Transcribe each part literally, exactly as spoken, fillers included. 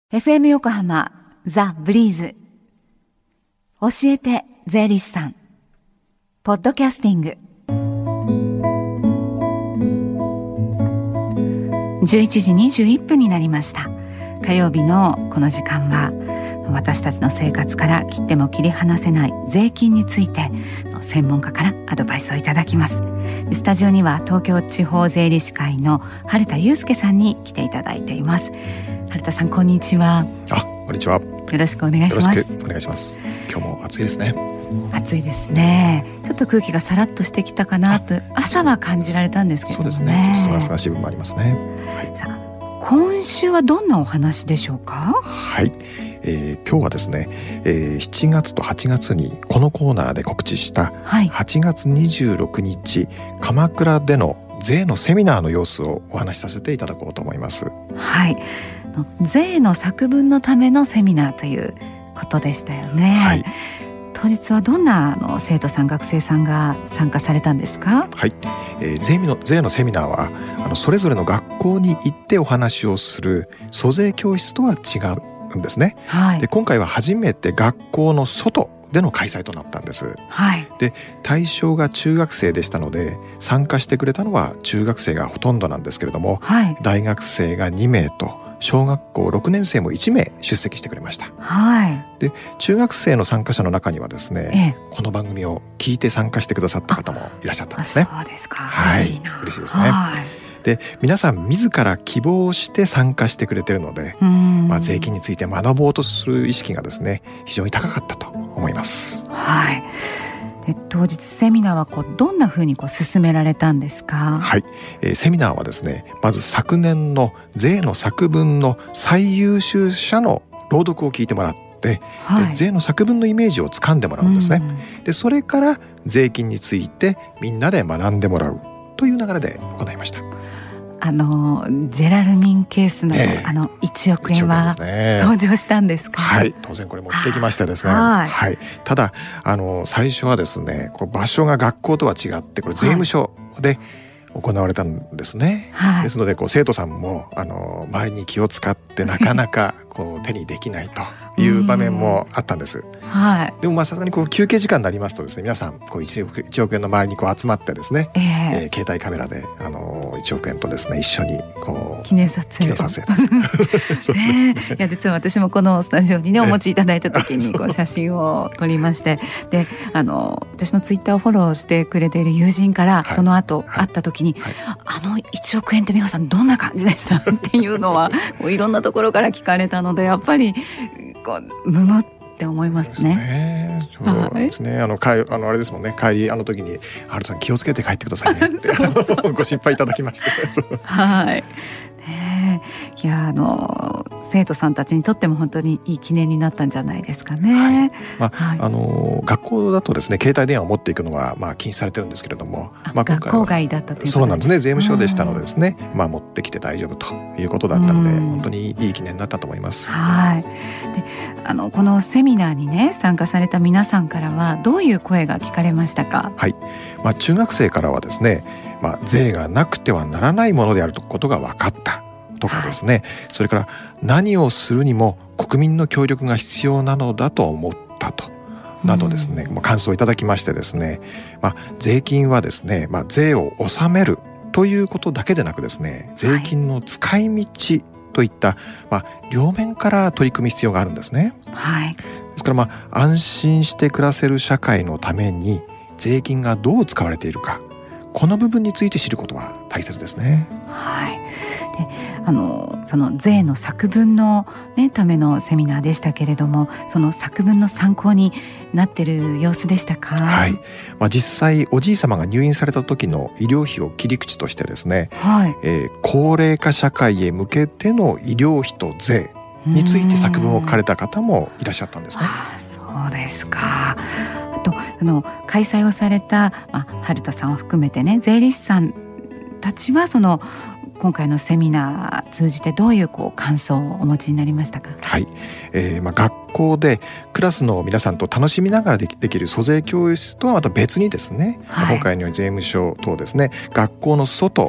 エフエム 横浜ザ・ブリーズ教えて税理士さんポッドキャスティングじゅういちじにじゅういっぷんになりました。火曜日のこの時間は私たちの生活から切っても切り離せない税金について専門家からアドバイスをいただきます。スタジオには東京地方税理士会の春田祐介さんに来ていただいています。春田さん、こんにちは。 あ、こんにちは。 よろしくお願いします。 よろしくお願いします。今日も暑いですね。 暑いですね。ちょっと空気がさらっとしてきたかなと朝は感じられたんですけどね。 そうですね。ちょっとすがすがしい部分もありますね。 はい、さあ今週はどんなお話でしょうか。 はい、えー、今日はですね、えー、しちがつとはちがつにこのコーナーで告知したはちがつにじゅうろくにち、鎌倉での税のセミナーの様子をお話しさせていただこうと思います。 はい、税の作文のためのセミナーということでしたよね。はい、当日はどんなあの生徒さん学生さんが参加されたんですか。 はい、えー、税の、税のセミナーはあのそれぞれの学校に行ってお話をする租税教室とは違うんですね。はい、で今回は初めて学校の外での開催となったんです。はい、で対象が中学生でしたので参加してくれたのは中学生がほとんどなんですけれども、はい、大学生がにめいと小学校ろくねん生もいちめい出席してくれました。はい、で中学生の参加者の中にはですね、ええ、この番組を聞いて参加してくださった方もいらっしゃったんですね。 そうですか。 はい、 嬉しいな。 嬉しいですね。はい、で皆さん自ら希望して参加してくれているので、まあ、税金について学ぼうとする意識がですね非常に高かったと思います。 はい、で当日セミナーはこうどんなふうにこう進められたんですか。 はい、えー、セミナーはですねまず昨年の税の作文の最優秀者の朗読を聞いてもらって、はい、税の作文のイメージをつかんでもらうんですね。でそれから税金についてみんなで学んでもらうという流れで行いました。 あのジェラルミンケースの、えー、あのいちおくえんは登場したんですか。 はい、当然これ持ってきましてですね。はい、はい、ただあの最初はですねこう場所が学校とは違ってこれ税務署で行われたんですね。はい、ですのでこう生徒さんもあの周りに気を使ってなかなかこう手にできないという場面もあったんです。はい、でもまあさすがにこう休憩時間になりますとですね皆さんこう 1, 億いちおくえんの周りにこう集まってですね、えーえー、携帯カメラであのいちおくえんとですね一緒にこう記念撮影記念撮影ですね。 いや実は私もこのスタジオにねお持ちいただいた時にこう写真を撮りましてであの私のツイッターをフォローしてくれている友人から、はい、その後、はい、会った時に、はい、あのいちおくえんって美穂さんどんな感じでしたっていうのはこういろんなところから聞かれたのでやっぱりこうむむって思いますね。 そうですね。あの帰あのあれですもんね。帰りあの時に春さん気をつけて帰ってくださいねってそうそうご心配いただきまして。 はい。ね、いやあの生徒さんたちにとっても本当にいい記念になったんじゃないですかね。はい、 まあはい、あの学校だとですね携帯電話を持っていくのはまあ禁止されてるんですけれども、 まあ、学校外だったということそうなんですね。税務署でしたのでですね、まあ持ってきて大丈夫ということだったので本当にいい記念になったと思います。 はい。であのこのセミナーにね参加された皆さんからはどういう声が聞かれましたか。 はい。まあ中学生からはですね。まあ、税がなくてはならないものであることが分かったとかですね、はい、それから何をするにも国民の協力が必要なのだと思ったとなどですね、うん、感想をいただきましてですね、まあ、税金はですね、まあ、税を納めるということだけでなくですね税金の使い道といった、まあ、両面から取り組む必要があるんですね。はい、ですから、まあ、安心して暮らせる社会のために税金がどう使われているかこの部分について知ることは大切ですね。 はい。であのその税の作文の、ね、ためのセミナーでしたけれどもその作文の参考になっている様子でしたか。 はい。まあ、実際おじい様が入院された時の医療費を切り口としてですね、はいえー、高齢化社会へ向けての医療費と税について作文を書かれた方もいらっしゃったんですね。 あそうですか。あとあの開催をされた、まあ、春田さんを含めてね税理士さんたちはその今回のセミナー通じてどういうこう感想をお持ちになりましたか。 はい、えーまあ、学校でクラスの皆さんと楽しみながらで き, できる租税教室とはまた別にですね、はい、今回のように税務署等ですね学校の外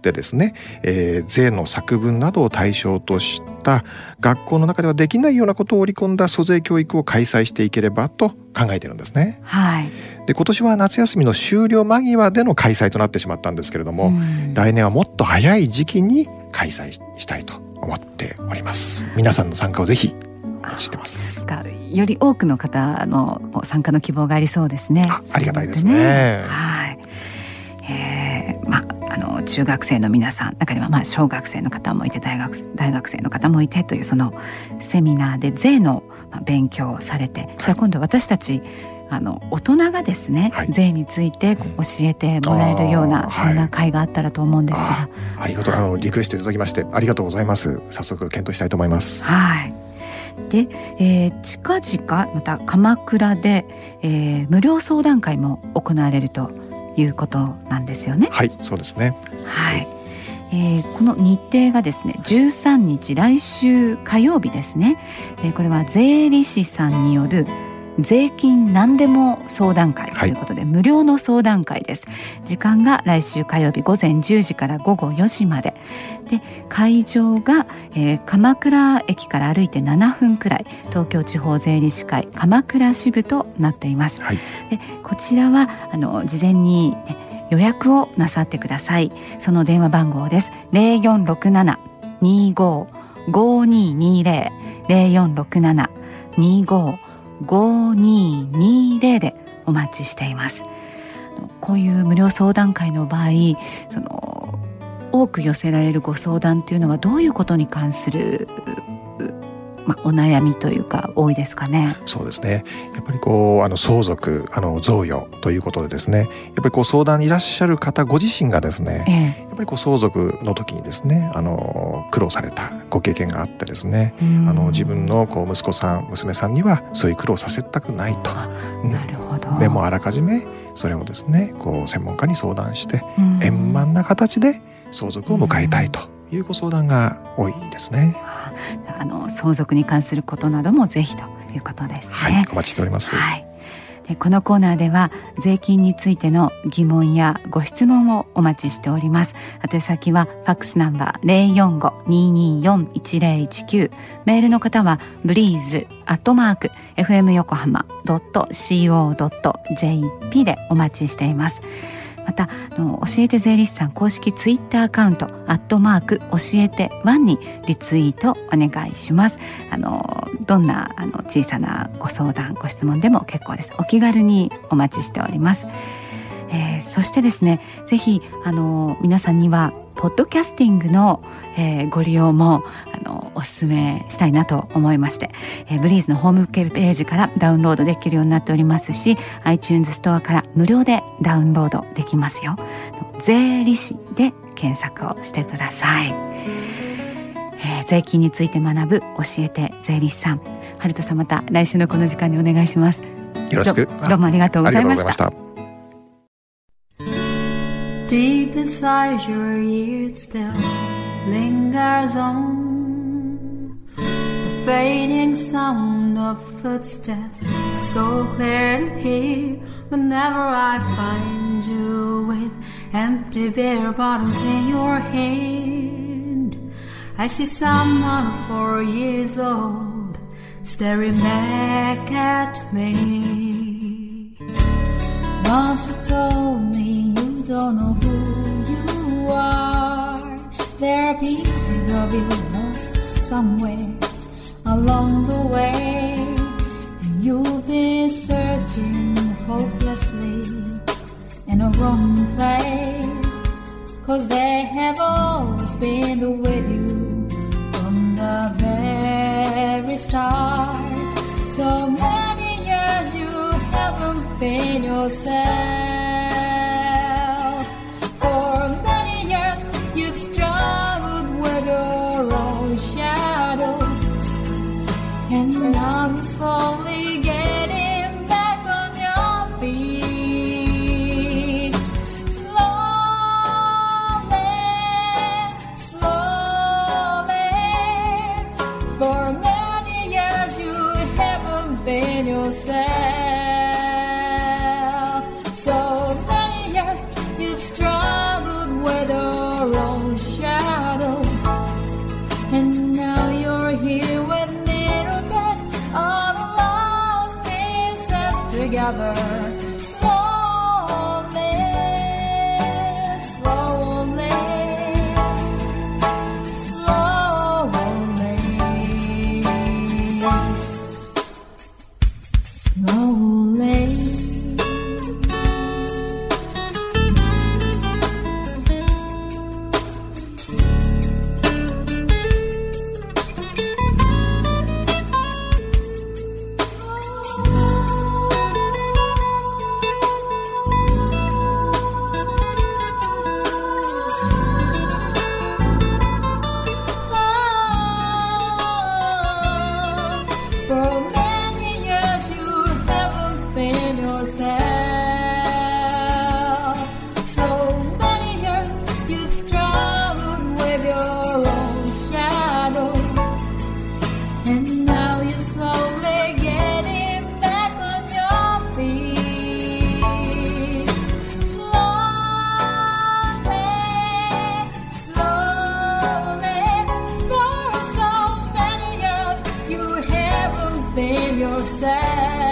ってですね、えー、税の作文などを対象とした学校の中ではできないようなことを織り込んだ租税教育を開催していければと考えているんですね。 はい、 で今年は夏休みの終了間際での開催となってしまったんですけれども、来年はもっと早い時期に開催したいと思っております。皆さんの参加をぜひお待ちしてます。 より多くの方の参加の希望がありそうですね。 あ, ありがたいですね。 はい、えー、まあの中学生の皆さん、中にはまあ小学生の方もいて大学大学生の方もいてという、そのセミナーで税の勉強をされて、じゃあ今度私たちあの大人がですね、はい、税について教えてもらえるような、うん、そんな会があったらと思うんですが、 あ, ありがとうあのリクエストいただきましてありがとうございます。早速検討したいと思います。 はい。で、えー、近々また鎌倉で、えー、無料相談会も行われるということなんですよね。 はい、そうですね。 はい、えー、この日程がですねじゅうさんにち、来週火曜日ですね、えー、これは税理士さんによる税金何でも相談会ということで、はい、無料の相談会です。時間が来週火曜日ごぜんじゅうじからごごよじまでで、会場が、えー、鎌倉駅から歩いてななふんくらい、東京地方税理士会鎌倉支部となっています。はい、でこちらはあの事前に、ね、予約をなさってください。その電話番号です。ゼロよんろくなな にーごー ごーにーにーゼロ ゼロよんろくなな にーごーごーにーにーゼロでお待ちしています。こういう無料相談会の場合、その多く寄せられるご相談というのはどういうことに関する、まあ、お悩みというか多いですかね。 そうですね。やっぱりこうあの相続、あの贈与ということでですね、やっぱりこう相談にいらっしゃる方ご自身がですね、ええ、やっぱりこう相続の時にですね、あの苦労されたご経験があってですね、あの自分のこう息子さん娘さんにはそういう苦労させたくないと。 なるほど。 でもあらかじめそれをですねこう専門家に相談して円満な形で相続を迎えたいというご相談が多いですね。 あの相続に関することなどもぜひということですね。 はい、お待ちしております。 はい、でこのコーナーでは税金についての疑問やご質問をお待ちしております。宛先はファックスナンバー ゼロよんご にーにーよん いちゼロいちきゅう、メールの方はブリーズアットマーク エフエム 横浜 ドット シーオー ドット ジェーピー でお待ちしています。またあの教えて税理士さん公式ツイッターアカウントアットマーク教えてワンにリツイートお願いします。あのどんなあの小さなご相談ご質問でも結構です。お気軽にお待ちしております。えー、そしてですね、ぜひあの皆さんにはポッドキャスティングの、えー、ご利用もあのお勧めしたいなと思いまして、えー、ブリーズのホームページからダウンロードできるようになっておりますし、 iTunes ストアから無料でダウンロードできますよ。税理士で検索をしてください。えー、税金について学ぶ教えて税理士さん、春人さん、また来週のこの時間にお願いします。 よろしく。 ど, どうもありがとうございました。 Deep inside your ears still lingers on the fading sound of footsteps, so clear to hear whenever I find you with empty beer bottles in your hand. I see someone four years old staring back at me. Once you told me you don't know who you are, there are pieces of you lost somewhere along the way, and you've been searching hopelessly in a wrong place, 'cause they have always been with you from the very start. So many years you haven't been yourself. For many years you've struggled with your own shadow, and now you're slowly getting back on your feet. Slowly, slowly. For many years you haven't been yourself. So many years you've struggled with your own together. Slowly, slowly, slowly, slowly. For many years you haven't been yourself. So many years you've struggled with your own shadow. And now you're slowly getting back on your feet. Slowly, slowly. For so many years you haven't been yourself.